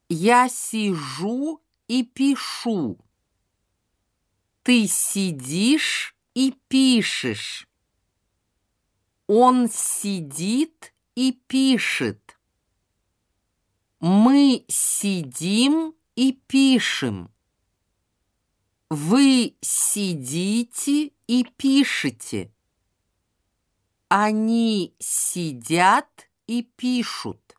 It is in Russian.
Я сижу и пишу. Ты сидишь и пишешь. Он сидит и пишет. Мы сидим и пишем. Вы сидите и пишете. Они сидят и пишут.